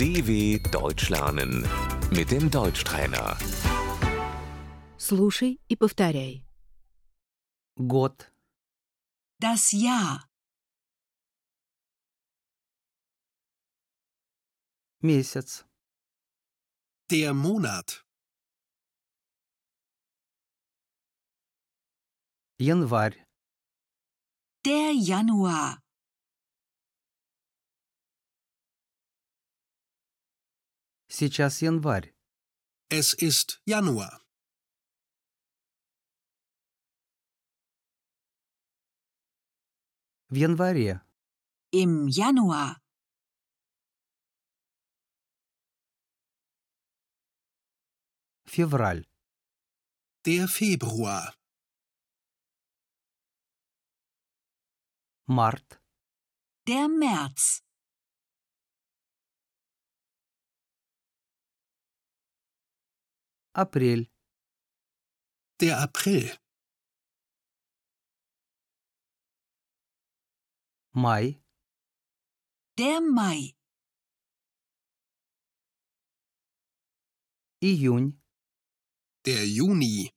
DW Deutsch lernen mit dem Deutschtrainer. Слушай и повторяй. Год, Das Jahr, месяц, Der Monat. январь, der Januar, сейчас январь, Es ist Januar. в январе, im Januar, февраль, Der Februar. март, der März, апрель, Der April. май, der Mai, июнь, Der Juni.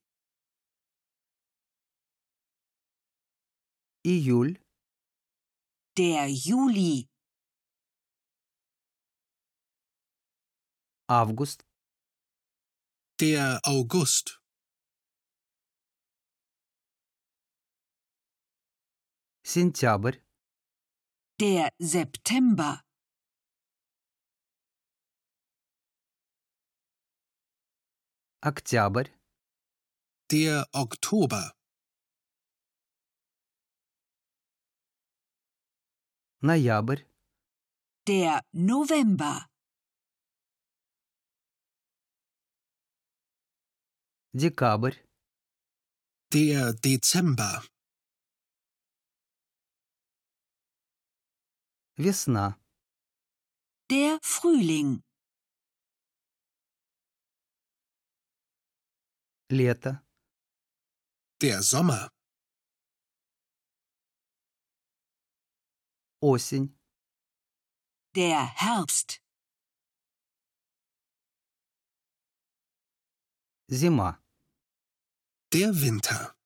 июль, der Juli, август, Der August. сентябрь, der September, октябрь, Der Oktober. ноябрь, der November, декабрь, Der Dezember. весна, der Frühling, лето, Der Sommer. осень, der Herbst, зима. Der Winter.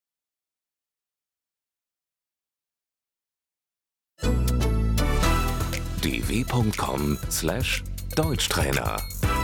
dw.com/Deutschtrainer